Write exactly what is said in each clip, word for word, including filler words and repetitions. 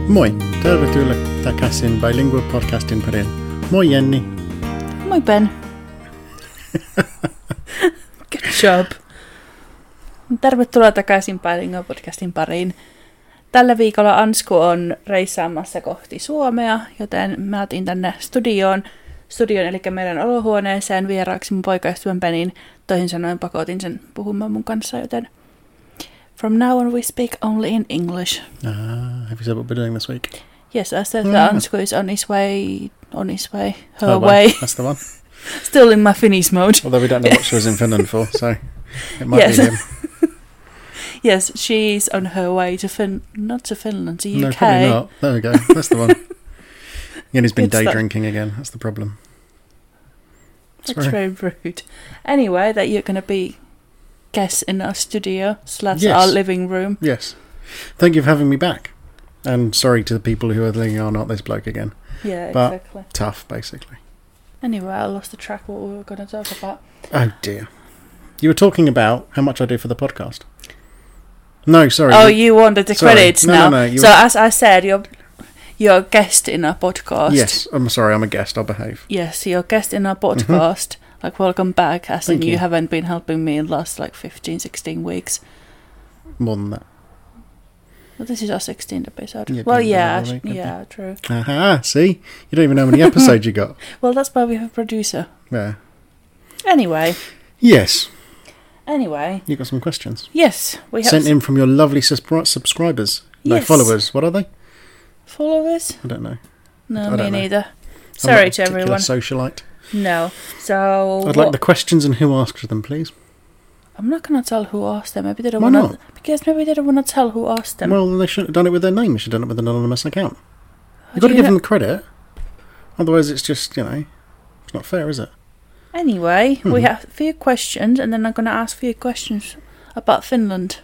Moi, tervetuloa takaisin Bilingual Podcastin pariin. Moi Jenni. Moi Ben. Good job. Tervetuloa takaisin Bilingual Podcastin pariin. Tällä viikolla Ansku on reissaamassa kohti Suomea, joten mä otin tänne studioon, studioon eli meidän olohuoneeseen vieraaksi mun poikaystävän Benin. Toisin sanoen pakotin sen puhumaan mun kanssa, joten from now on we speak only in English. Ah, have you said what we're doing this week? Yes, I said Mm. that Ansku is on his way, on his way, her, Her way. way. That's the one. Still in my Finnish mode. Although we don't know what she was in Finland for, so it might Yes. be him. Yes, she's on her way to Fin, not to Finland, to U K. No, probably not. There we go. That's the one. Jenny's been Good day stuff. drinking again. That's the problem. That's Sorry. very rude. Anyway, that you're going to be guest in our studio slash Yes. our living room. Yes. Thank you for having me back. And sorry to the people who are thinking, oh, not this bloke again. Yeah, But- exactly. Tough, basically. Anyway, I lost the track what we were going to talk about. Oh, dear. You were talking about how much I do for the podcast. No, sorry. Oh, you wanted the Sorry. credits No, now. no, no, you so were- as I said, you're you're a guest in our podcast. Yes, I'm sorry, I'm a guest, I'll behave. Yes, you're a guest in our podcast. Like, welcome back. As Thank in, you. you. haven't been helping me in the last like fifteen, sixteen weeks. More than that. Well, this is our sixteenth episode. Yeah, well, didn't yeah, bother me, sh- did yeah, true. Aha, see? You don't even know how many episodes you got. Well, that's why we have a producer. Yeah. Anyway, Yes, anyway, you got some questions. yes, we have Sent s- in from your lovely subscri- subscribers. No, Yes. followers. What are they? followers. I don't know. No, I me don't know. neither. I'm Sorry not a to particular everyone. socialite. No. So I'd what- like the questions and who asked them, please. I'm not gonna tell who asked them. Maybe they don't Why want not? to. Because maybe they don't want to tell who asked them. Well, they shouldn't have done it with their name. They should have done it with an anonymous account. How You've do got to you give know- them the credit. Otherwise, it's just, you know, it's not fair, is it? Anyway, we Mhm. have a few questions, and then I'm gonna ask a few questions about Finland.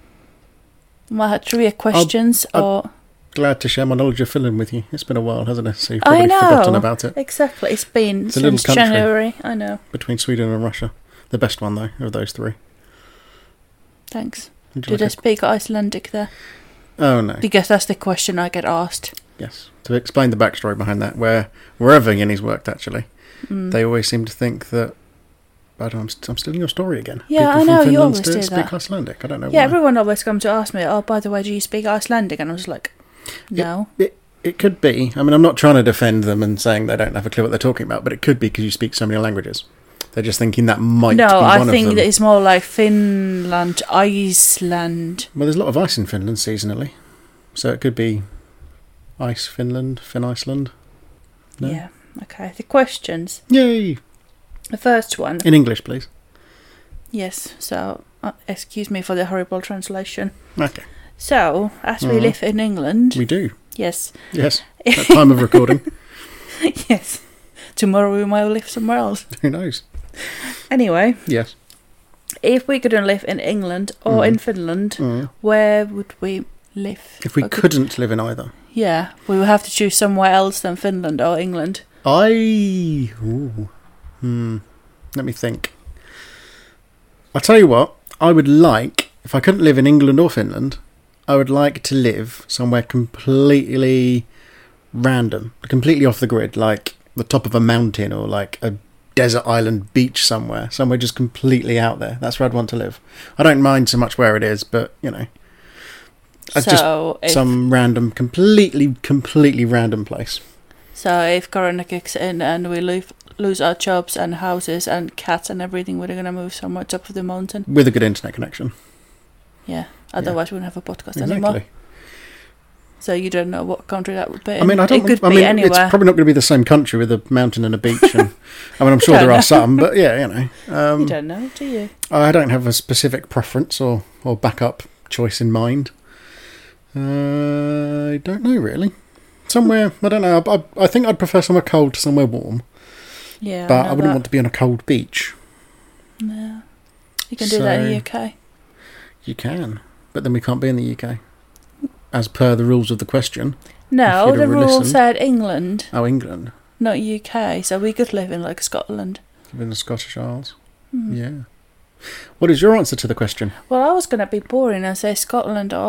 I had three questions, I'll- or Glad to share my knowledge of Finland with you. It's been a while, hasn't it? So you've I probably know. forgotten about it. exactly. It's been It's a little since country. January. I know. Between Sweden and Russia. The best one, though, of those three. Thanks. Would you Did I like speak Icelandic there? a- Oh, no. Because that's the question I get asked. Yes. To explain the backstory behind that, where wherever Yenny's worked, actually, Mm. they always seem to think that. I don't, I'm, st- I'm stealing your story again. Yeah, People I from know, you Finland always still do speak that. Icelandic. I don't know Yeah, why. everyone always comes to ask me, oh, by the way, do you speak Icelandic? And I was like, no. It, it could be. I mean, I'm not trying to defend them and saying they don't have a clue what they're talking about, but it could be because you speak so many languages. They're just thinking that might No, be one I of think them. that it's more like Finland, Iceland. Well, there's a lot of ice in Finland seasonally, so it could be ice Finland, Finn Iceland. No? Yeah, okay. The questions. Yay! The first one. In English, please. Yes, so, uh, excuse me for the horrible translation. Okay. So, as we Mhm. live in England, We do. yes, Yes. At time of recording. yes, tomorrow we might live somewhere else. Who knows? Anyway, Yes. if we couldn't live in England or Mhm. in Finland, Mm. where would we live? If we Or could- couldn't live in either. Yeah, we would have to choose somewhere else than Finland or England. I. Ooh. Hmm. Let me think. I'll tell you what. I would like, if I couldn't live in England or Finland, I would like to live somewhere completely random, completely off the grid, like the top of a mountain or like a desert island beach somewhere, somewhere just completely out there. That's where I'd want to live. I don't mind so much where it is, but, you know, it's just So, if, some random, completely, completely random place. so if Corona kicks in and we lose, lose our jobs and houses and cats and everything, we're going to move somewhere top of the mountain. With a good internet connection. Yeah, otherwise we wouldn't have a podcast Exactly. anymore. So you don't know what country that would be. I mean, I don't. It could I be mean, anywhere. it's probably not going to be the same country with a mountain and a beach. And I mean, I'm sure don't there are know. some, but yeah, you know, you um, don't know, do you? I don't have a specific preference or or backup choice in mind. Uh, I don't know really. Somewhere I don't know. I, I, I think I'd prefer somewhere cold to somewhere warm, Yeah, but I, I, know wouldn't that. want to be on a cold beach. No. You can do that in So- the U K. You can, but then we can't be in the U K, as per the rules of the question. No, you'd the have rule listened. said England, Oh, England, not U K. So we could live in like Scotland. in the Scottish Isles. Hmm. Yeah. What is your answer to the question? Well, I was going to be boring and say Scotland or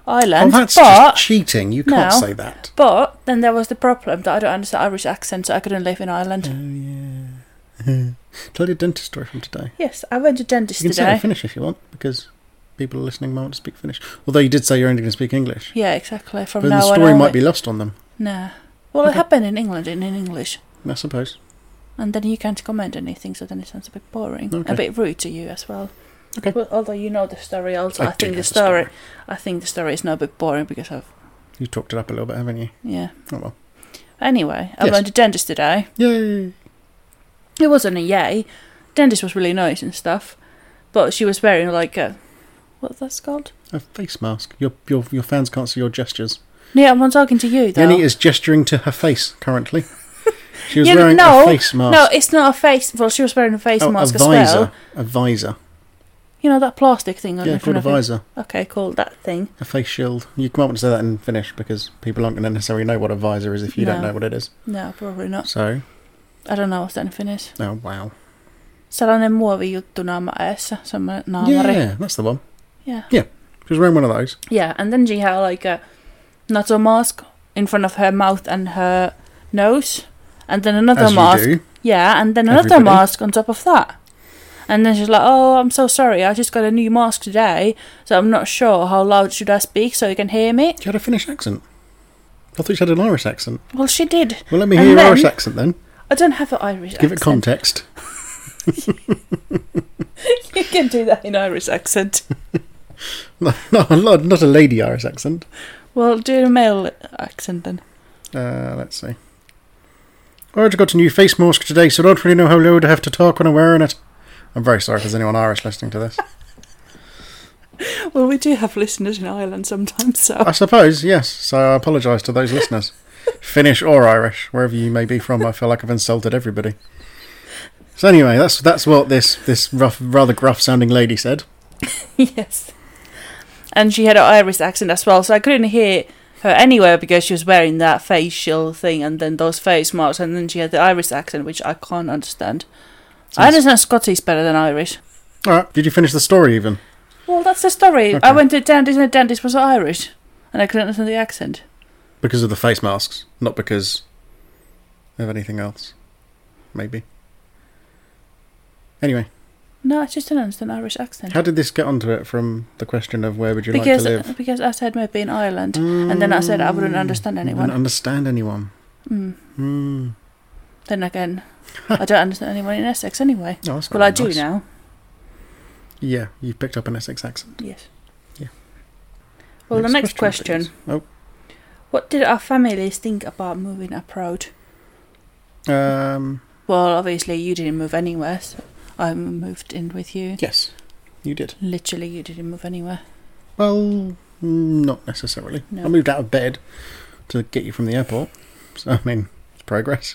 Ireland. Oh, that's but, just cheating. You can't No. say that. but then there was the problem that I don't understand Irish accent, so I couldn't live in Ireland. Oh, yeah. Tell your dentist story from today. Yes, I went to dentist You can say today. it in Finnish if you want, because people listening might want to speak Finnish. Although you did say you're only going to speak English. Yeah, exactly. From But now the on story only. might be lost on them, No. Well, Okay. it happened in England in, in English. I suppose. And then you can't comment anything, so then it sounds a bit boring. Okay. A bit rude to you as well. Okay. Well, although you know the story also, I I, do think know the the story, story. I think the story is now a bit boring because of, You talked it up a little bit, haven't you? yeah. Oh well. Anyway, I Yes. went to dentist today. Yay! It wasn't a yay. Dentist was really nice and stuff. But she was wearing like a, what's that called? A face mask. Your your your fans can't see your gestures. Yeah, I'm talking to you though. Jenny is gesturing to her face currently. She was Yeah, wearing no, a face mask. No, it's not a face. Well, she was wearing a face Oh, mask a as visor. well. A visor. You know that plastic thing on Yeah, in called front a of visor. you? Okay, cool. That thing. A face shield. You might want to say that in Finnish because people aren't going to necessarily know what a visor is if you don't No. know what it is. No, probably not. So, I don't know what's that in Finnish. oh wow. Sellainen muovijuttu naama eessä. Semmoinen naamari. Yeah, that's the one. Yeah. She was wearing one of those. Yeah, and then she had like a NATO mask in front of her mouth and her nose. And then another As mask. you do. Yeah, and then another Everybody. mask on top of that. And then she's like, oh, I'm so sorry, I just got a new mask today, so I'm not sure how loud should I speak so you can hear me. She had a Finnish accent. I thought she had an Irish accent. Well, she did. Well, let me And hear your then- Irish accent then. I don't have an Irish Give it accent. context. You can do that in Irish accent. No, no, not not a lady Irish accent. Well, do a male accent then. Uh, let's see. I just got a new face mask today, so I don't really know how loud I have to talk when I'm wearing it. I'm very sorry if there's anyone Irish listening to this. Well, we do have listeners in Ireland sometimes, so. I suppose, yes. So I apologise to those listeners. Finnish or Irish, wherever you may be from, I feel like I've insulted everybody. So anyway, that's that's what this, this rough, rather gruff-sounding lady said. Yes. And she had an Irish accent as well, so I couldn't hear her anywhere because she was wearing that facial thing and then those face masks, and then she had the Irish accent, which I can't understand. I understand Scottish better than Irish. Alright, did you finish the story even? Well, that's the story. Okay. I went to a dentist and the dentist was Irish, and I couldn't understand the accent. Because of the face masks, not because of anything else. Maybe. Anyway, No, I just didn't understand Irish accent. how did this get onto it from the question of where would you because like to live? because I said maybe in Ireland, and then I said I wouldn't understand You anyone. wouldn't understand anyone. Mm. Hmm. Then again, I don't understand anyone in Essex anyway. Oh, that's Well, I very do nice. now. Yeah, you picked up an Essex accent. Yes. Yeah. Well, the next question. please. Oh, What did our families think about moving abroad? um, Well, obviously you didn't move anywhere, so I moved in with you. yes, you did. Literally, you didn't move anywhere. Well, mm, not necessarily. No. I moved out of bed to get you from the airport. So, I mean, it's progress.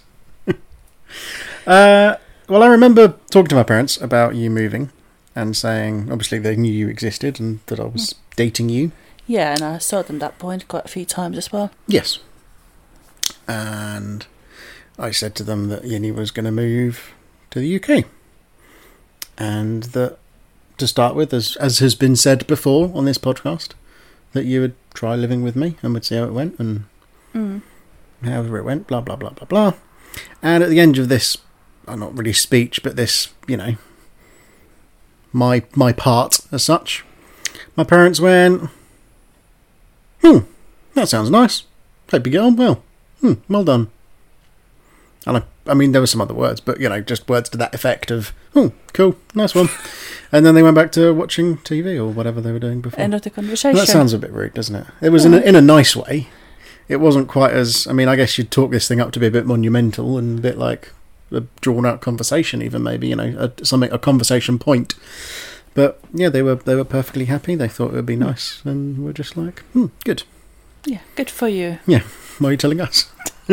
uh, well, I remember talking to my parents about you moving and saying, obviously, they knew you existed and that I was dating you. Yeah, and I saw them that point quite a few times as well. Yes. And I said to them that Yinny was going to move to the U K. And that, to start with, as as has been said before on this podcast, that you would try living with me and would see how it went and Mm. however it went, blah, blah, blah, blah, blah. And at the end of this, well, not really speech, but this, you know, my my part as such, my parents went, hmm, that sounds nice. Hope you get on well. Hmm, well done. And I, I mean, there were some other words, but, you know, just words to that effect of, oh, cool, nice one. And then they went back to watching T V or whatever they were doing before. End of the conversation. That sounds a bit rude, doesn't it? It was in, a, in a nice way. It wasn't quite as... I mean, I guess you'd talk this thing up to be a bit monumental and a bit like a drawn-out conversation even, maybe, you know, a, something, a conversation point. But, yeah, they were they were perfectly happy. They thought it would be nice. And we're just like, hmm, good. Yeah, good for you. Why are you telling us?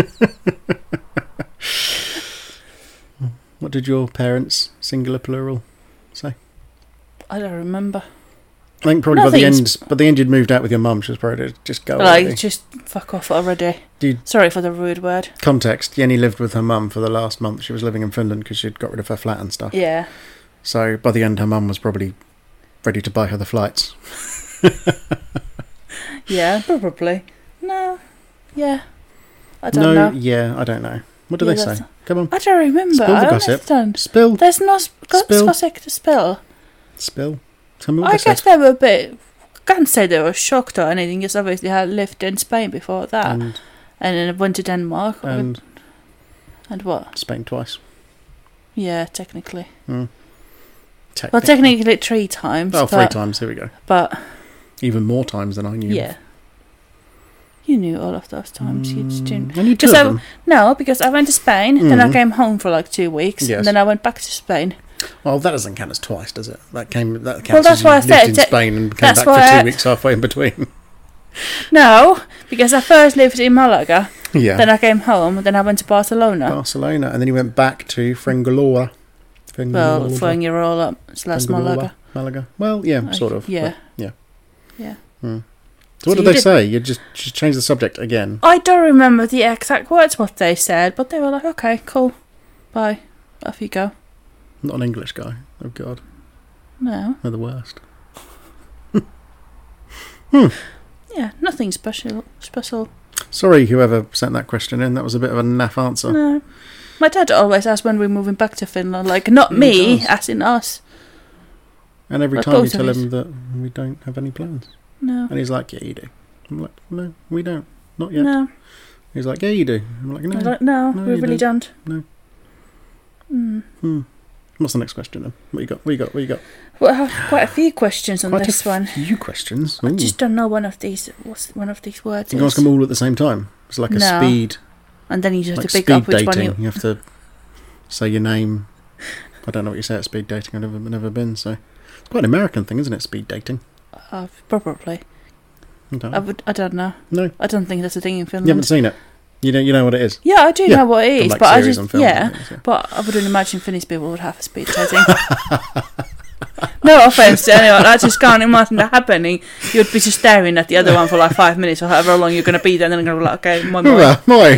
What did your parents, singular, plural, say? I don't remember. I think probably by the Nothing's- end, by the end you'd moved out with your mum. She was probably to just go Like, already. just fuck off already. Dude. Sorry for the rude word. Context, Jenny lived with her mum for the last month. She was living in Finland because she'd got rid of her flat and stuff. Yeah. So by the end, her mum was probably ready to buy her the flights. Yeah, probably. No. Yeah. I don't no, know. yeah, I don't know. What do Yeah, they say? that's- Come on. I don't remember. Spill the I gossip. don't. Spill. There's no sp- Spill. gossip to spill. Spill. Tell me what I they guess said. they were a bit... Can't say they were shocked or anything, because obviously I lived in Spain before that. And, And then I went to Denmark. and And what? Spain twice. Yeah, technically. Mm. Well, technically three times. Oh, but, three times. Here we go. But, Even more times than I knew. yeah. You knew all of those times. You just didn't... Mm, I knew two Because of I- them. No, because I went to Spain, then I Mm. came home for like two weeks, Yes. and then I went back to Spain. Well, that doesn't count as twice, does it? That came. That counts Well, that's as you why I lived said in that- Spain and came that's back for why two I- weeks halfway in between. No, because I first lived in Malaga, Yeah. then I came home, then I went to Barcelona. Barcelona, and then you went back to Fuengirola. Well, Fuengirola slash Malaga. Malaga. Well, yeah, Like, sort of. yeah. but yeah. Yeah. Hmm. So So what did you they did- say? You just just changed the subject again. I don't remember the exact words what they said, but they were like, okay, cool, bye, off you go. Not an English guy. Oh God, No, they're the worst. yeah, nothing special. Special. Sorry, whoever sent that question in. That was a bit of a naff answer. No. My dad always asks when we're moving back to Finland, like not Yeah, me, he does. as in us. And every Like time you both of tell us. him that we don't have any plans, No, and he's like, "Yeah, you do." I'm like, "No, we don't. Not yet." no, He's like, "Yeah, you do." I'm like, "No." I like, no, no, we you really don't. No. Mm. Hmm. What's the next question then? What you got? What you got? What you got? Well, I have quite a few questions on Quite this a one. few questions. I Ooh. just don't know one of these. What's one of these words? You can ask is. them all at the same time. It's like a No. speed, And then you just have like to pick speed up which dating. one you. You have to say your name. I don't know what you say at speed dating. I've never, never been, so it's quite an American thing, isn't it? Speed dating. Uh, probably. I don't I know. would. I don't know. No, I don't think that's a thing in you Finland. haven't seen it. You know, you know what it is. Yeah, I do Yeah, know what it The, is, like, but I series just on film yeah. and things, yeah. But I wouldn't imagine Finnish people would have speed dating. No offense to anyone, I just can't imagine that happening. You'd be just staring at the other one for like five minutes or however long you're going to be there, and then going to be like, okay, my boy. Hyvä, moi.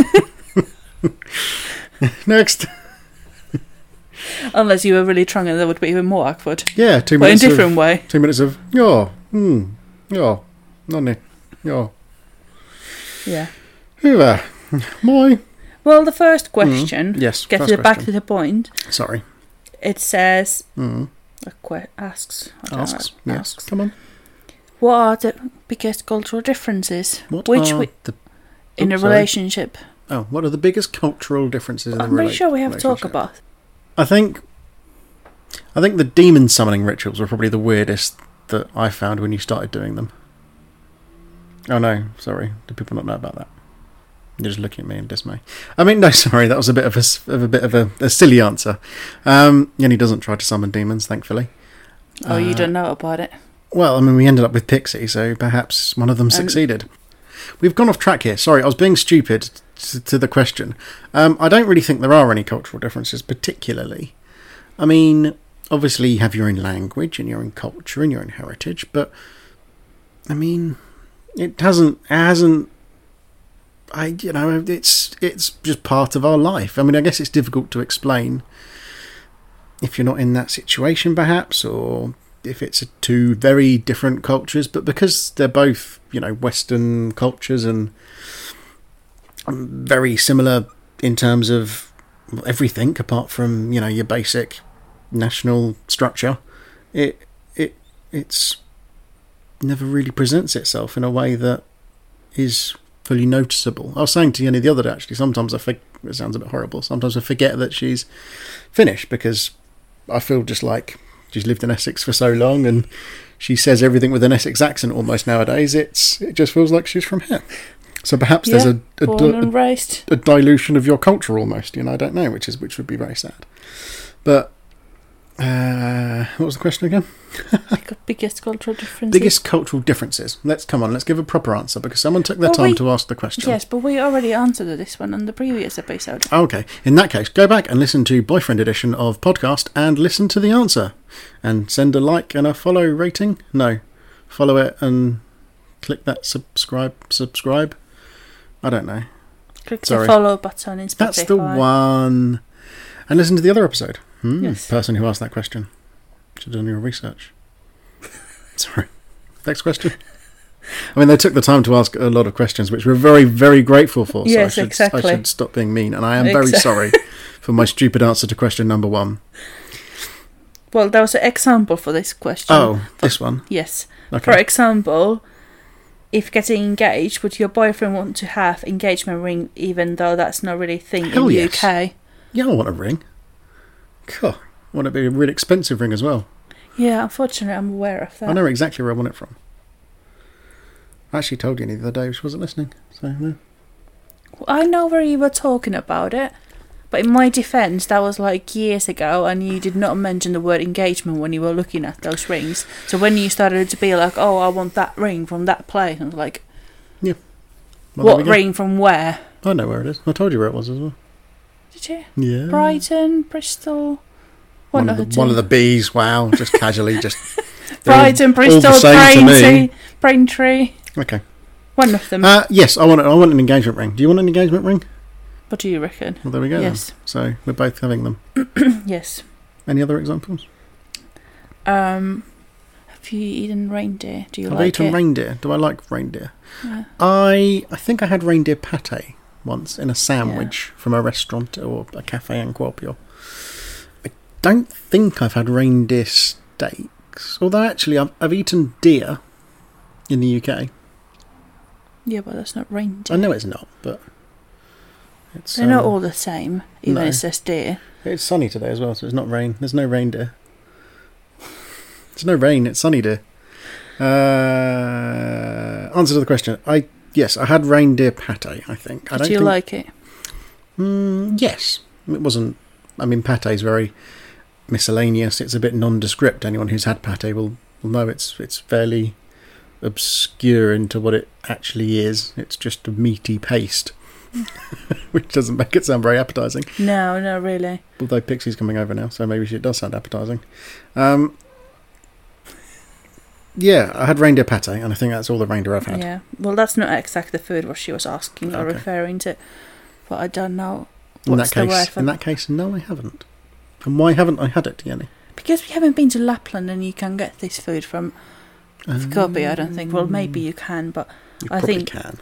Next. Unless you were really drunk, and that would be even more awkward. Yeah, two But in minutes. a different of, way. Two minutes of joo, hmm, joo, no niin, joo. Yeah. Hyvä, moi. Well, the first question, Mm, yes, get first to the, back question. to the point. Sorry. It says, Mm. uh, que- asks, I don't Asks. know, Yes. asks, Come on. what are the biggest cultural differences What which are we, the in a Oops, sorry. relationship? oh? What are the biggest cultural differences in I'm the pretty rela- sure we have to talk relationship? about. I think. I think the demon summoning rituals were probably the weirdest that I found when you started doing them. Oh no, sorry. Do people not know about that? You're just looking at me in dismay. I mean, no, sorry. That was a bit of a, s- of a bit of a, a silly answer. Um, Yenny doesn't try to summon demons, thankfully. Oh, you Uh, don't know about it. Well, I mean, we ended up with Pixie, so perhaps one of them Um, succeeded. We've gone off track here. Sorry, I was being stupid to, to the question. Um, I don't really think there are any cultural differences, particularly. I mean, obviously you have your own language and your own culture and your own heritage, but I mean, it hasn't it hasn't. I you know it's it's just part of our life. I mean, I guess it's difficult to explain if you're not in that situation, perhaps, or if it's two very different cultures. But because they're both, you know, Western cultures and very similar in terms of everything apart from, you know, your basic national structure, it it it's never really presents itself in a way that is fully noticeable. I was saying to Yenny the other day, actually, sometimes I think it sounds a bit horrible. Sometimes I forget that she's Finnish because I feel just like she's lived in Essex for so long and she says everything with an Essex accent almost nowadays. It's it just feels like she's from here. So perhaps Yeah, there's a, a, born a, and raised. a dilution of your culture almost, you know, I don't know, which is which would be very sad. But uh, what was the question again? Biggest cultural differences. Biggest cultural differences. Let's come on, let's give a proper answer because someone took their Well, time we- to ask the question. Yes, but we already answered this one on the previous episode. Okay, in that case, go back and listen to Boyfriend Edition of podcast and listen to the answer. And send a like and a follow rating. No, follow it and click that subscribe, subscribe. I don't know. Click Sorry. the follow button in Spotify. That's the one. And listen to the other episode. Hmm, Yes. Person who asked that question. Should have done your research. Sorry. Next question. I mean, they took the time to ask a lot of questions, which we're very, very grateful for. So Yes, I should, exactly. I should stop being mean, and I am very Exact- sorry for my stupid answer to question number one. Well, there was an example for this question. Oh, this one. Yes. Okay. For example, if getting engaged, would your boyfriend want to have engagement ring, even though that's not really a thing Hell in yes. U K? Yeah, I want a ring. God, I want it to be a really expensive ring as well. Yeah, unfortunately, I'm aware of that. I know exactly where I want it from. I actually told you the other day, which wasn't listening. So no. I know where you were talking about it, but in my defence, that was like years ago, and you did not mention the word engagement when you were looking at those rings. So when you started to be like, "Oh, I want that ring from that place," I was like, Well, there "What we go. ring from where?" I know where it is. I told you where it was as well. Did you? Yeah. Brighton, Bristol. One of, the, one of the bees. Wow, just casually, just they're all- Brighton, all Bristol, the same to me. Braintree, Braintree. Okay. One of them. Uh, yes, I want. I want an engagement ring. Do you want an engagement ring? What do you reckon? Well, there we go. Yes. Then. So we're both having them. Yes. Any other examples? Um, have you eaten reindeer? Do you I've like eaten it? reindeer. Do I like reindeer? Yeah. I I think I had reindeer pate once in a sandwich from a restaurant or a cafe in Kuopio. I don't think I've had reindeer steaks. Although actually I've, I've eaten deer in the U K. Yeah, but that's not reindeer. I know it's not, but it's They're not um, all the same, even no. if it says deer. It's sunny today as well, so it's not rain. There's no reindeer. There's no rain. It's sunny, dear. Uh, answer to the question. I yes, I had reindeer pate. I think. I Did don't you think, like it? Mm, yes, it wasn't. I mean, pate is very miscellaneous. It's a bit nondescript. Anyone who's had pate will, will know it's it's fairly obscure into what it actually is. It's just a meaty paste, which doesn't make it sound very appetising. No, not really. Although Pixie's coming over now, so maybe it does sound appetising. Um, yeah, I had reindeer pate, and I think that's all the reindeer I've had. Yeah. Well, that's not exactly the food what she was asking or Okay. referring to. But I don't know In what's that the word case, for in that case, no, I haven't. And why haven't I had it, Jenny? Because we haven't been to Lapland and you can get this food from Um, Skopje, I don't think. Well, maybe you can, but You I probably think- can.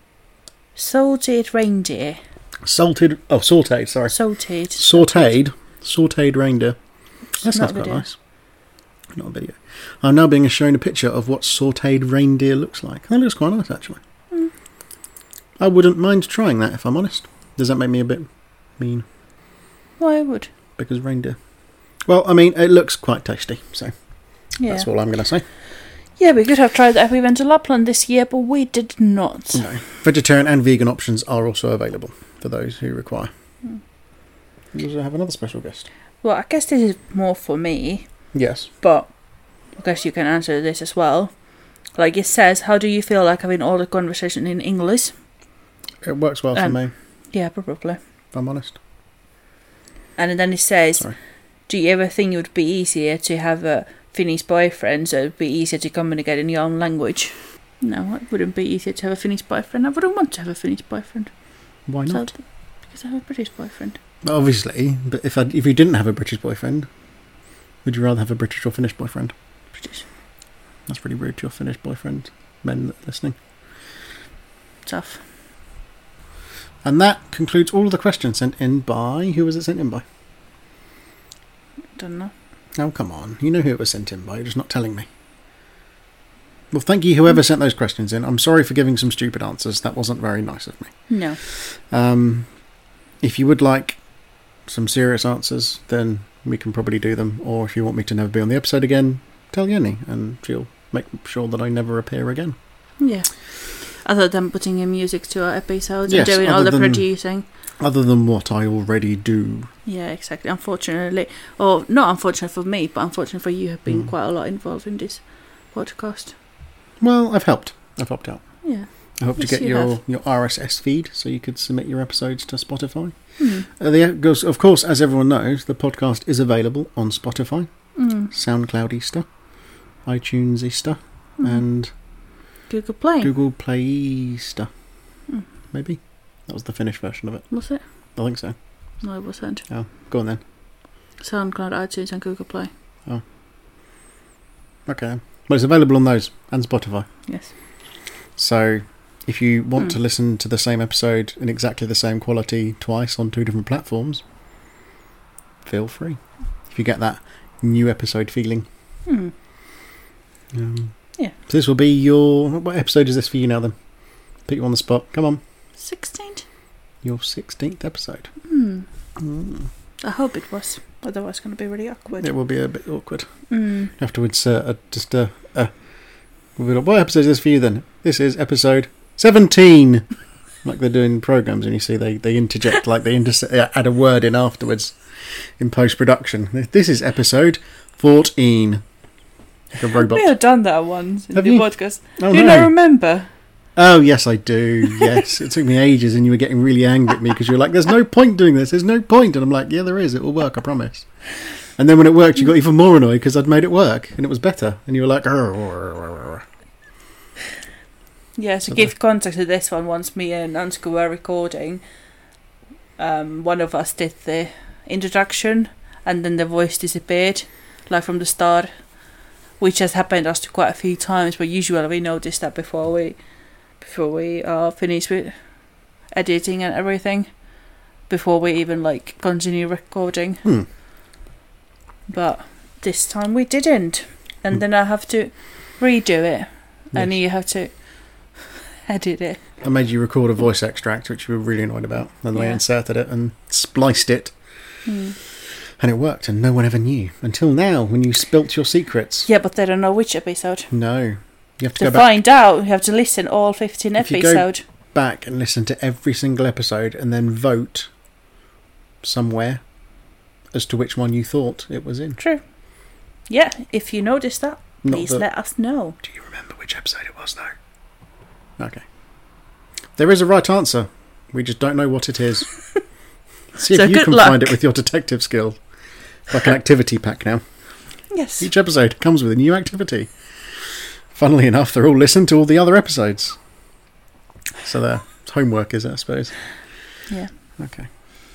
salted reindeer. Salted, oh, sautéed, sorry. Salted. Sautéed, sautéed reindeer. That Not sounds a quite video. nice. Not a video. I'm now being shown a picture of what sautéed reindeer looks like. That looks quite nice, actually. Mm. I wouldn't mind trying that, if I'm honest. Does that make me a bit mean? Well, I would. Because reindeer. Well, I mean, it looks quite tasty, so Yeah. that's all I'm going to say. Yeah, we could have tried that if we went to Lapland this year, but we did not. No. Vegetarian and vegan options are also available for those who require. Mm. We also have another special guest. Well, I guess this is more for me, Yes. but I guess you can answer this as well. Like it says, how do you feel like having all the conversation in English? It works well for Um, me, Yeah, probably. if I'm honest. And then it says, Sorry. do you ever think it would be easier to have a Finnish boyfriend, so it would be easier to communicate in your own language? No, it wouldn't be easier to have a Finnish boyfriend. I wouldn't want to have a Finnish boyfriend. Why So- not? because I have a British boyfriend. Obviously, but if I, if you didn't have a British boyfriend, would you rather have a British or Finnish boyfriend? British. That's pretty rude to your Finnish boyfriend, men that are listening. Tough. And that concludes all of the questions sent in by... Who was it sent in by? Don't know. Oh, come on. You know who it was sent in by. You're just not telling me. Well, thank you, whoever sent those questions in. I'm sorry for giving some stupid answers. That wasn't very nice of me. No. Um, if you would like some serious answers, then we can probably do them. Or if you want me to never be on the episode again, tell Jenny, and she'll make sure that I never appear again. Yeah. Other than putting in music to our episodes Yes, and doing all other the than- producing. Other than what I already do. Yeah, exactly. Unfortunately, or not unfortunate for me, but unfortunate for you, have been Mm. quite a lot involved in this podcast. Well, I've helped. I've helped out. Yeah. I hope Yes, to get you your, have. your R S S feed so you could submit your episodes to Spotify. Mm. Uh, the, goes, of course, as everyone knows, the podcast is available on Spotify, Mm. SoundCloud Easter, iTunes Easter, Mm. and Google Play. Google Play Easter. Mm. Maybe? That was the Finnish version of it. Was it? I think so. No, it wasn't. Oh, go on then. SoundCloud, iTunes, and Google Play. Okay then. Well, it's available on those and Spotify. Yes. So if you want Hmm. to listen to the same episode in exactly the same quality twice on two different platforms, feel free. If you get that new episode feeling. Hmm. Um, Yeah. So this will be your... What episode is this for you now then? Put you on the spot. Come on. sixteenth? Your sixteenth episode. Hmm. Mm. I hope it was. Otherwise it's going to be really awkward. It will be a bit awkward. Hmm. Afterwards, uh, uh, just... Uh, uh, we'll be like, what episode is this for you then? This is episode seventeen. Like they do in programmes, and you see they, they interject, like they inter- add a word in afterwards in post-production. This is episode fourteen. Like a robot. We have done that once in Have the you? podcast. Oh, do you no. not remember? Oh, yes, I do. Yes. It took me ages, and you were getting really angry at me because you were like, there's no point doing this. There's no point. And I'm like, yeah, there is. It will work, I promise. And then when it worked, you got even more annoyed because I'd made it work, and it was better. And you were like, "Arr, arr, arr, arr." Yeah, to So give context to this one, once me and Ansku were recording, um, one of us did the introduction and then the voice disappeared, like from the start, which has happened us to quite a few times, but usually we notice that before we before we uh, finish with editing and everything, before we even like continue recording. Hmm. But this time we didn't, and Hmm. then I have to redo it, and Yes. you have to edit it. I made you record a voice extract, which you were really annoyed about. And then I Yeah. inserted it and spliced it, Hmm. and it worked, and no one ever knew. Until now, when you spilt your secrets. Yeah, but they don't know which episode. No. You have to, To go back, find out, you have to listen all fifteen If you go- episodes. back and listen to every single episode and then vote somewhere as to which one you thought it was in. True. Yeah, if you notice that, Not please that- let us know. Do you remember which episode it was, though? Okay. There is a right answer. We just don't know what it is. See So if you good can luck. find it with your detective skill. Like an activity pack now. Yes. Each episode comes with a new activity. Funnily enough, they're all listened to all the other episodes. So their homework is it, I suppose. Yeah. Okay.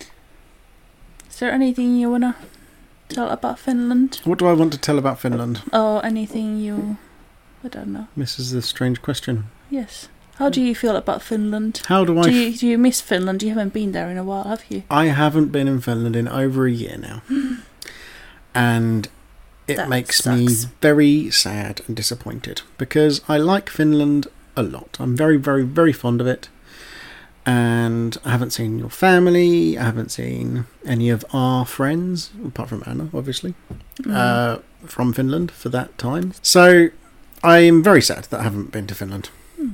Is there anything you wanna tell about Finland? What do I want to tell about Finland? Or anything you... I don't know. This is a strange question. Yes. How do you feel about Finland? How do I... Do f- you, do you miss Finland? You haven't been there in a while, have you? I haven't been in Finland in over a year now. And it That makes me sucks. very sad and disappointed because I like Finland a lot. I'm very, very, very fond of it. And I haven't seen your family. I haven't seen any of our friends, apart from Anna, obviously, Mm. uh, from Finland for that time. So I am very sad that I haven't been to Finland. Mm.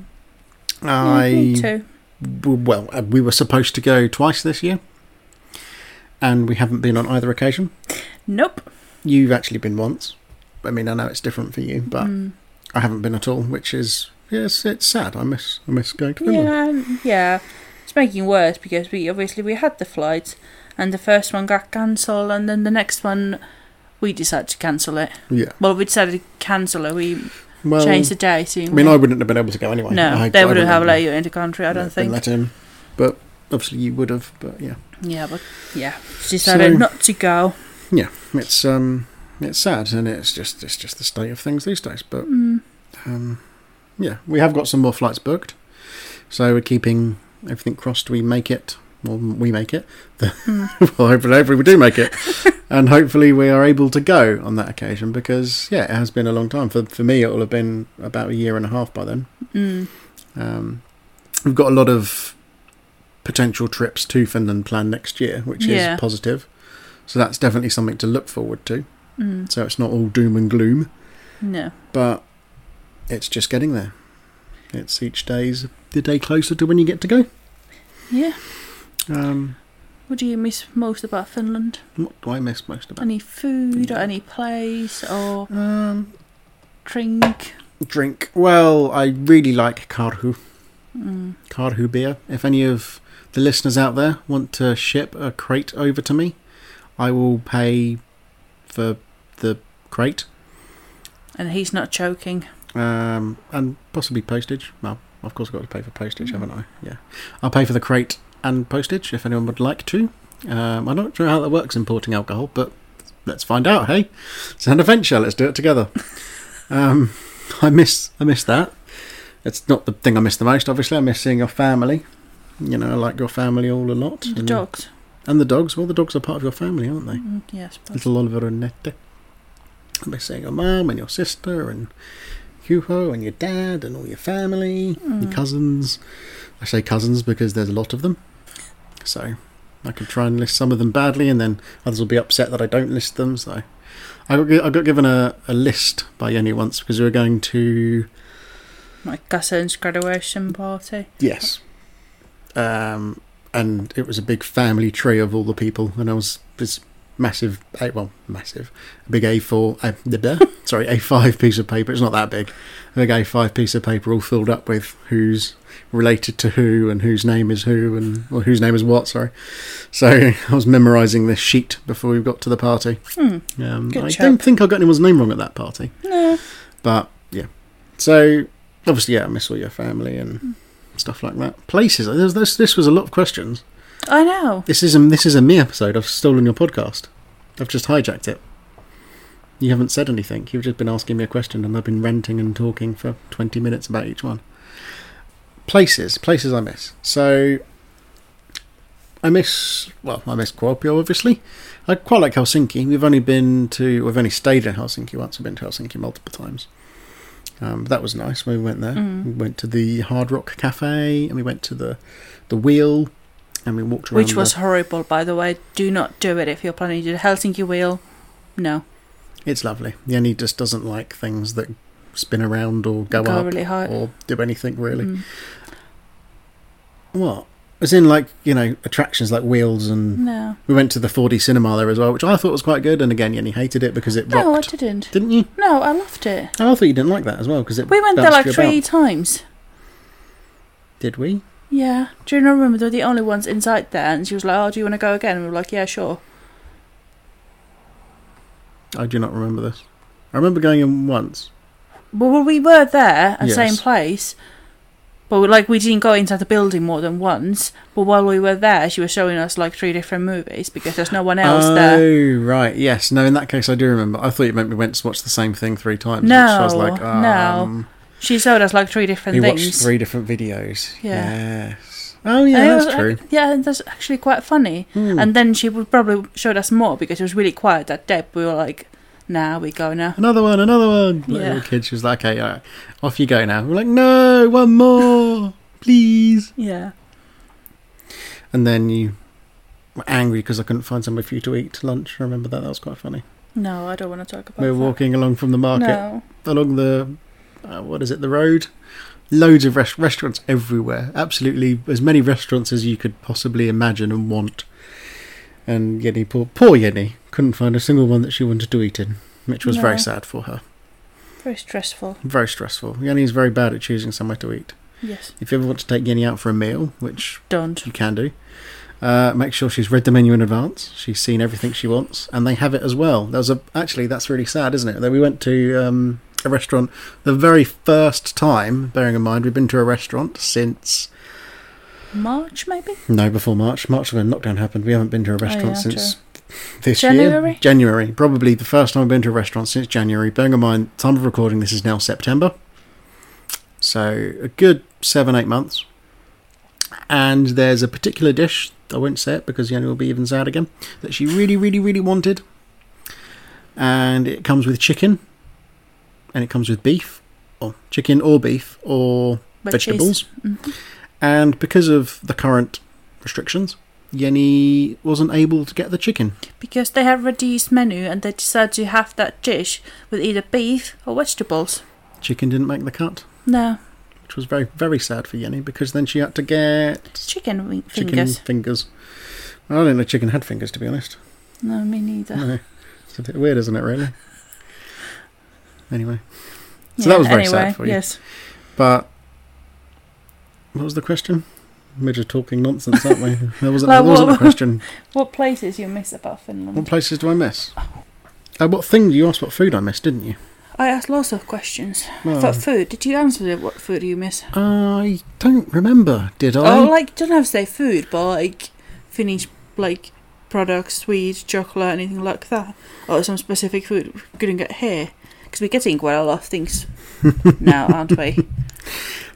I Yeah, me too. w- well, uh, we were supposed to go twice this year, and we haven't been on either occasion. Nope. You've actually been once. I mean, I know it's different for you, but Mm. I haven't been at all, which is yes, it's sad. I miss I miss going to Finland. Yeah, yeah. It's making worse because we obviously we had the flights, and the first one got cancelled, and then the next one we decided to cancel it. Yeah. Well, we decided to cancel it. We Well, changed the day. So I mean, I wouldn't have been able to go anyway. no, I, they I wouldn't have been- let you into the country. I don't been think. let in, but obviously you would have. But yeah, Yeah, but yeah, decided So- not to go. yeah, it's um, it's sad, and it's just it's just the state of things these days. But Mm. um, yeah, we have got some more flights booked, so we're keeping everything crossed. We make it. Well, we make it. Mm. well, hopefully, hopefully we do make it, and hopefully we are able to go on that occasion because yeah, it has been a long time. For for me, it will have been about a year and a half by then. Mm. Um, we've got a lot of potential trips to Finland planned next year, which Yeah. is positive. So that's definitely something to look forward to. Mm. So it's not all doom and gloom, No. but it's just getting there. It's each day's the day closer to when you get to go. Yeah. Um, What do you miss most about Finland? what do I miss most about? Any food or any place or Um, drink? drink. Well, I really like Karhu. Mm. Karhu beer. If any of the listeners out there want to ship a crate over to me, I will pay for the crate. And he's not joking. Um, and possibly postage. Well, of course I've got to pay for postage, Mm. haven't I? Yeah. I'll pay for the crate and postage if anyone would like to. Um, I'm not sure how that works importing alcohol, but let's find out, hey? It's an adventure, let's do it together. um, I miss I miss that. It's not the thing I miss the most, obviously. I miss seeing your family. You know, I like your family all a lot. The and, dogs. And the dogs. Well, the dogs are part of your family, aren't they? Mm, yes. Yeah, Little Oliver and Nette. I miss seeing your mum and your sister and Hugo and your dad and all your family, mm. your cousins. I say cousins because there's a lot of them. So I could try and list some of them badly, and then others will be upset that I don't list them. So I got, I got given a, a list by Jenny once because we were going to... My cousin's graduation party. Yes. Um, and it was a big family tree of all the people, and I was this massive, well, massive, a big A four, uh, sorry, A five piece of paper. It's not that big. A big A five piece of paper all filled up with who's related to who and whose name is who and or whose name is what. Sorry. So I was memorising this sheet before we got to the party. Hmm. Um, Good I chap. don't think I got anyone's name wrong at that party. No. But yeah. So obviously, yeah, I miss all your family and mm. stuff like that. Places. This, this, this was a lot of questions. I know. This is a, this is a me episode. I've stolen your podcast. I've just hijacked it. You haven't said anything. You've just been asking me a question, and I've been ranting and talking for twenty minutes about each one. Places. Places I miss. So, I miss... Well, I miss Kuopio, obviously. I quite like Helsinki. We've only been to... We've only stayed in Helsinki once. We've been to Helsinki multiple times. Um, but that was nice when we went there. Mm. We went to the Hard Rock Cafe, and we went to the, the Wheel... And we walked around. Which was the... horrible, by the way. Do not do it if you're planning to do the Helsinki Wheel. No. It's lovely. Jenny just doesn't like things that spin around or go, go up really high. or do anything really. Mm. What? As in, like, you know, attractions like wheels and... No. We went to the four D cinema there as well, which I thought was quite good. And again, Jenny hated it because it rocked. No, I didn't. Didn't you? No, I loved it. Oh, I thought you didn't like that as well because it We went there like you three about. times. Did we? Yeah. Do you not remember they were the only ones inside there? And she was like, oh, do you want to go again? And we were like, yeah, sure. I do not remember this. I remember going in once. Well, we were there at the Yes. same place. But like we didn't go inside the building more than once. But while we were there, she was showing us like three different movies because there's no one else oh, there. Oh, right. Yes. No, in that case, I do remember. I thought you meant we went to watch the same thing three times. No, which I was like, um, no. She showed us like three different we things. watched three different videos. Yeah. Yes. Oh, yeah, And it that's was, true. like, yeah, that's actually quite funny. Hmm. And then she would probably showed us more because it was really quiet that day. We were like, nah, we go now. Another one, another one. Like Yeah. little kid, she was like, okay, all right, off you go now. We're like, no, one more, please. Yeah. And then you were angry because I couldn't find somewhere for you to eat lunch. I remember that. That was quite funny. No, I don't want to talk about We were that. walking along from the market, No. along the, uh, what is it, the road? Loads of rest- restaurants everywhere. Absolutely as many restaurants as you could possibly imagine and want. And Jenny, poor, poor Jenny, couldn't find a single one that she wanted to eat in, which was No. very sad for her. Very stressful. Very stressful. Jenny's very bad at choosing somewhere to eat. Yes. If you ever want to take Jenny out for a meal, which Don't. you can do, uh, make sure she's read the menu in advance. She's seen everything she wants, and they have it as well. There was a actually that's really sad, isn't it? That we went to um, a restaurant the very first time. Bearing in mind we've been to a restaurant since March, maybe? no before March. March when lockdown happened. We haven't been to a restaurant yeah, since true. this January? year. January, probably the first time I've been to a restaurant since January. Bearing in mind, time of recording, this is now September. So a good seven, eight months. And there's a particular dish, I won't say it because Jenny will be even sad again, that she really, really, really wanted. And it comes with chicken. And it comes with beef. Or chicken or beef or But vegetables. Mm-hmm. And because of the current restrictions, Jenny wasn't able to get the chicken. Because they have reduced menu and they decided to have that dish with either beef or vegetables. Chicken didn't make the cut. No. Which was very, very sad for Jenny because then she had to get Chicken wing- chicken fingers. fingers. Well, I didn't know chicken had fingers, to be honest. No, me neither. No. It's a bit weird, isn't it, really? Anyway. So Yeah, that was very anyway, sad for you. Yes. But what was the question? We're just talking nonsense, aren't we? There wasn't, Like, there wasn't a what- question. What places you miss about Finland? What places do I miss? Uh, what thing? You asked what food I missed, didn't you? I asked lots of questions. Well, But food, did you answer the- what food you miss? I don't remember, did I? Oh, like, don't have to say food, but like Finnish, like, products, sweets, chocolate, anything like that. Or some specific food we couldn't get here. Because we're getting quite a lot of things now, aren't we?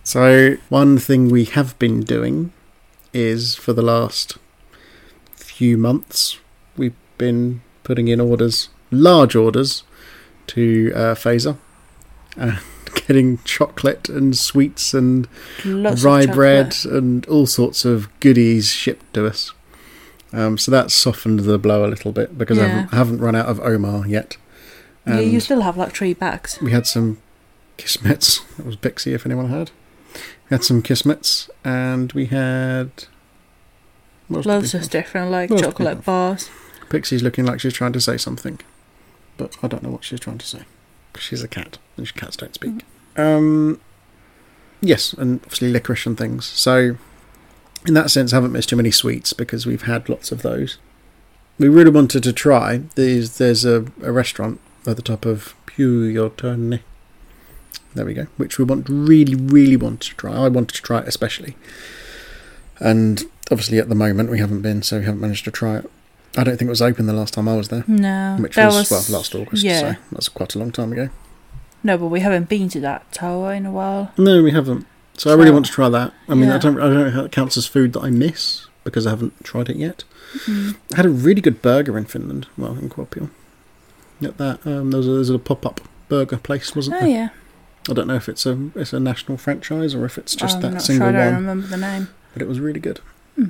So, one thing we have been doing is for the last few months, we've been putting in orders, large orders, to uh, Fazer. And getting chocolate and sweets and Lots rye of bread chocolate. and all sorts of goodies shipped to us. Um, so that's softened the blow a little bit because I, Yeah. haven't, I haven't run out of Omar yet. Yeah, And you still have like three bags. we had some Kismets. That was Bixie, if anyone heard. We had some Kismets, and we had what else did Loads we of have? different like What else did we chocolate have? bars. Pixie's looking like she's trying to say something, but I don't know what she's trying to say. She's a cat, and cats don't speak. Um, yes, and obviously licorice and things. So, in that sense, I haven't missed too many sweets because we've had lots of those. We really wanted to try. There's there's a, a restaurant at the top of Pugliotone. There we go. Which we want really, really wanted to try. I wanted to try it especially. And obviously at the moment we haven't been, so we haven't managed to try it. I don't think it was open the last time I was there. No, Which that was, was well, last August, yeah. so that's quite a long time ago. No, but we haven't been to that tower in a while. No, we haven't. So I really So- want to try that. I mean, I yeah. don't, I don't know how it counts as food that I miss because I haven't tried it yet. Mm. I had a really good burger in Finland, well, in Kuopio. At that, um, there was a, there was a pop-up burger place, wasn't Oh there? yeah, I don't know if it's a it's a national franchise or if it's just I'm that not single sure. I don't one, remember the name. but it was really good. Hmm.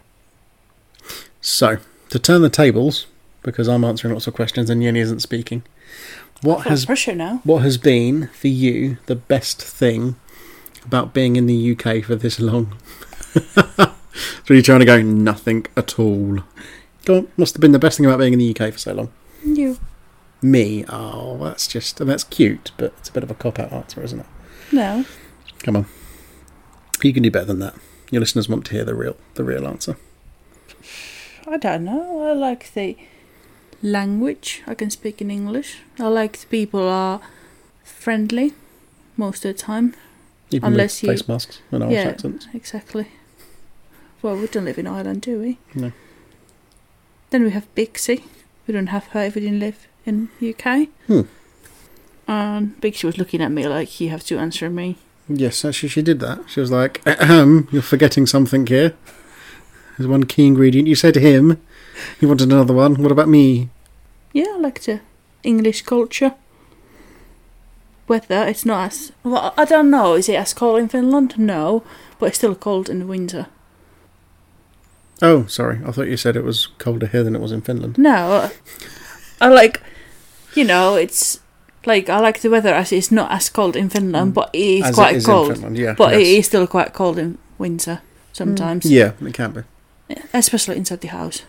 So, to turn the tables, because I'm answering lots of questions and Yenny isn't speaking, what Full has pressure now. what has been for you the best thing about being in the U K for this long? So you're trying to go nothing at all. Go on, must have been the best thing about being in the U K for so long. You. Me? Oh, that's just that's cute, but it's a bit of a cop-out answer, isn't it? No. Come on, you can do better than that. Your listeners want to hear the real the real answer. I don't know. I like the language. I can speak in English. I like the people are friendly most of the time. Even Unless with you- face masks and Irish Yeah. accents. Exactly. Well, we don't live in Ireland, do we? No. Then we have Bixie. We don't have her if we didn't live in U K. Hmm. And Bixie was looking at me like, you have to answer me. Yes, actually, she did that. She was like, "Ahem, you're forgetting something here. There's one key ingredient. You said him. You wanted another one. What about me?" Yeah, I like the English culture. Weather, it's not as... Well, I don't know. Is it as cold in Finland? No. But it's still cold in the winter. Oh, sorry. I thought you said it was colder here than it was in Finland. No. I like... You know, it's... Like, I like the weather as it's not as cold in Finland, Mm. but it is As quite it is cold. in Finland, yeah. But yes. it is still quite cold in winter sometimes. Yeah, it can be. Especially inside the house.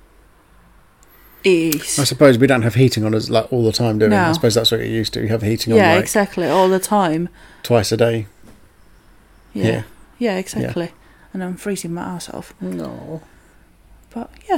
It is. I suppose we don't have heating on us like all the time, do we? No. I suppose that's what you're used to. You have heating Yeah, on like exactly. All the time. twice a day. Yeah. Yeah. Yeah, exactly. And I'm freezing my ass off. No. But, yeah.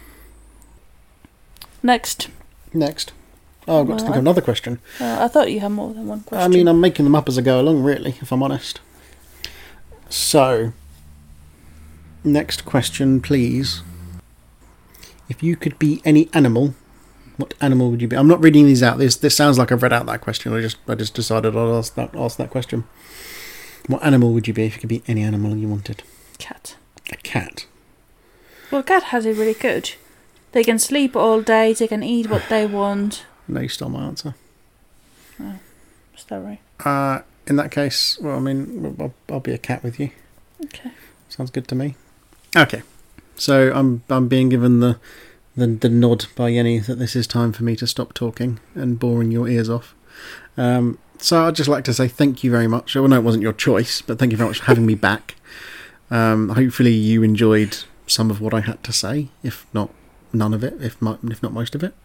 Next. Next. Oh, I've got to think of another question. Uh, I thought you had more than one question. I mean, I'm making them up as I go along, really, if I'm honest. So, next question, please. If you could be any animal, what animal would you be? I'm not reading these out. This this sounds like I've read out that question. I just I just decided I'd ask that ask that question. What animal would you be if you could be any animal you wanted? Cat. A cat. Well, cat has it really good. They can sleep all day. They can eat what they want. No, you stole my answer. Is that right? Uh, in that case, well, I mean, I'll, I'll be a cat with you. Okay. Sounds good to me. Okay, so I'm I'm being given the the, the nod by Yenny that this is time for me to stop talking and boring your ears off. Um, so I'd just like to say thank you very much. Well, no, it wasn't your choice, but thank you very much for having me back. Um, hopefully you enjoyed some of what I had to say, if not none of it, if mo- if not most of it.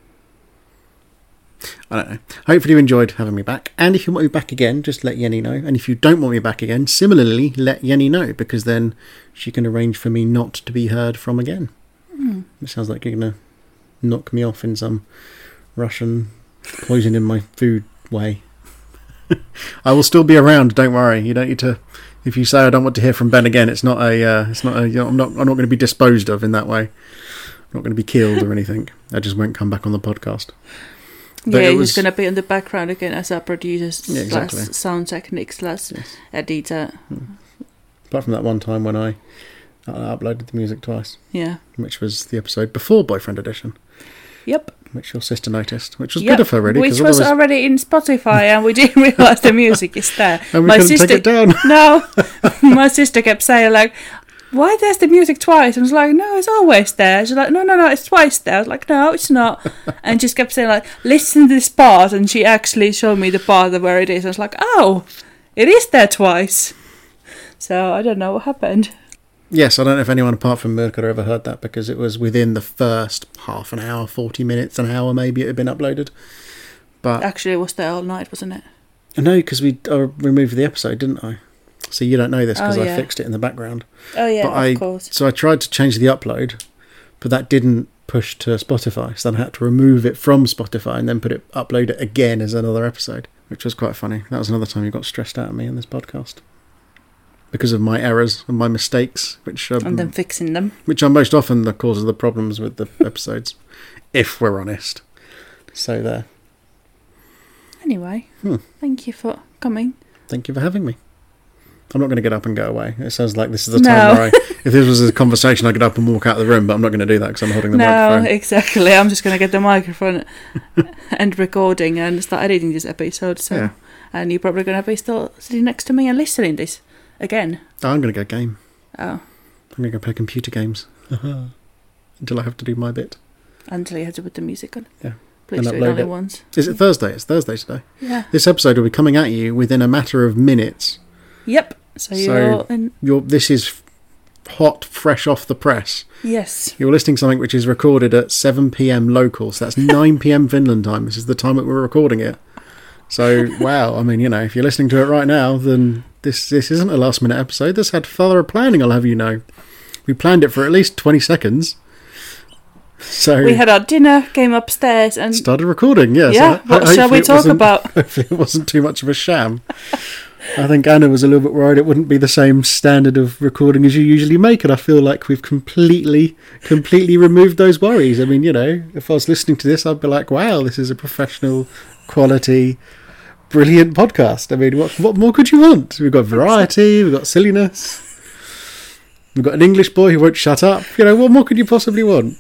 I don't know. Hopefully you enjoyed having me back. And if you want me back again, just let Yenny know. And if you don't want me back again, similarly, let Yenny know, because then she can arrange for me not to be heard from again. Mm. It sounds like you're going to knock me off in some Russian poison in my food way. I will still be around, don't worry. You don't need to... If you say I don't want to hear from Ben again, it's not a... Uh, it's not a you know, I'm not, I'm not going to be disposed of in that way. I'm not going to be killed or anything. I just won't come back on the podcast. But yeah, it he's was- going to be in the background again as a producer slash Yeah, exactly. sound technique slash Yes. editor. Apart from that one time when I uh, uploaded the music twice, Yeah. which was the episode before Boyfriend Edition, Yep. which your sister noticed, which was Yep. good of her, really. Which 'cause was otherwise- already in Spotify, and we didn't realize the music is there. and we My couldn't sister, take it down. no, my sister kept saying like, "Why there's the music twice?" And I was like, "No, it's always there." She's like, "No, no, no, it's twice there." I was like, "No, it's not." And she just kept saying like, "Listen to this part," and she actually showed me the part of where it is. I was like, "Oh, it is there twice." So I don't know what happened. Yes, I don't know if anyone apart from Mirka ever heard that, because it was within the first half an hour, forty minutes, an hour maybe it had been uploaded. But Actually, it was there all night, wasn't it? no, because we uh, removed the episode, didn't I? So you don't know this because Oh, I yeah. fixed it in the background. Oh yeah, But of I- course. So I tried to change the upload, but that didn't push to Spotify. So then I had to remove it from Spotify and then put it upload it again as another episode, which was quite funny. That was another time you got stressed out of me in this podcast because of my errors and my mistakes, which um, And then fixing them. which are most often the cause of the problems with the episodes, if we're honest. So there. Anyway, Hmm. thank you for coming. Thank you for having me. I'm not going to get up and go away. It sounds like this is the No. time where I, if this was a conversation, I'd get up and walk out of the room, but I'm not going to do that because I'm holding the No, microphone. exactly. I'm just going to get the microphone and recording and start editing this episode. So, Yeah. and you're probably going to be still sitting next to me and listening this again. Oh, I'm going to go game. Oh, I'm going to go play computer games until I have to do my bit. until you have to put the music on. Yeah. Please And do it upload only it. once. Is it Thursday? It's Thursday today. Yeah. This episode will be coming at you within a matter of minutes. Yep. So So- you're in. You're, this is hot, fresh off the press. Yes. You're listening to something which is recorded at seven p.m. local, so that's nine p.m. Finland time. This is the time that we're recording it. So, wow, I mean, you know, if you're listening to it right now, then this this isn't a last-minute episode. This had thorough planning, I'll have you know. We planned it for at least twenty seconds. So We had our dinner, came upstairs, and started recording, yes. yeah. So ho- What shall hopefully we it talk wasn't- about? Hopefully it wasn't too much of a sham. I think Anna was a little bit worried it wouldn't be the same standard of recording as you usually make, and I feel like we've completely, completely removed those worries. I mean, you know, if I was listening to this, I'd be like, wow, this is a professional, quality, brilliant podcast. I mean, what what more could you want? We've got variety, we've got silliness, we've got an English boy who won't shut up. You know, what more could you possibly want?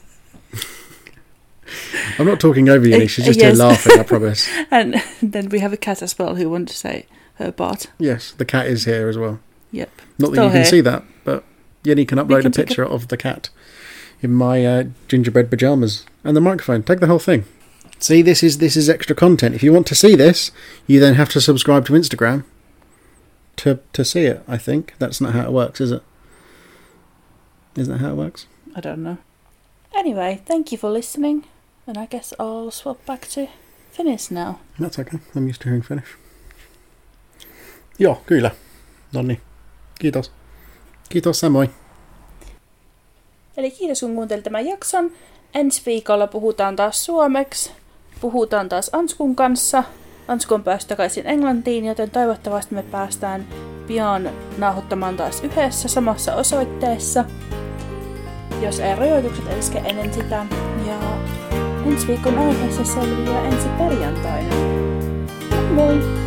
I'm not talking over you, Uh, she's just yes. here laughing, I promise. And then we have a cat as well who wants to say her part. Yes, the cat is here as well. Yep. Not that Still you can here. see that, but Yenny can upload can a take picture of the cat in my uh, gingerbread pajamas and the microphone. Take the whole thing. See, this is this is extra content. If you want to see this, you then have to subscribe to Instagram to to see it. I think that's not how it works, is it? Isn't that how it works? I don't know. Anyway, thank you for listening. And I guess I'll swap back to Finnish now. That's okay. I'm used to hearing Finnish. Joo, kyllä. Nonni. Kiitos. Kiitos samoin. Eli kiitos kun kuuntelit tämän jakson. Ensi viikolla puhutaan taas suomeksi. Puhutaan taas Anskun kanssa. Ansku on päässyt takaisin Englantiin, joten toivottavasti me päästään pian nauhoittamaan taas yhdessä samassa osoitteessa. Jos ei rajoitukset eske ennen sitä. Ja ensi viikon aiheessa selviää ensi perjantaina. Moi moi!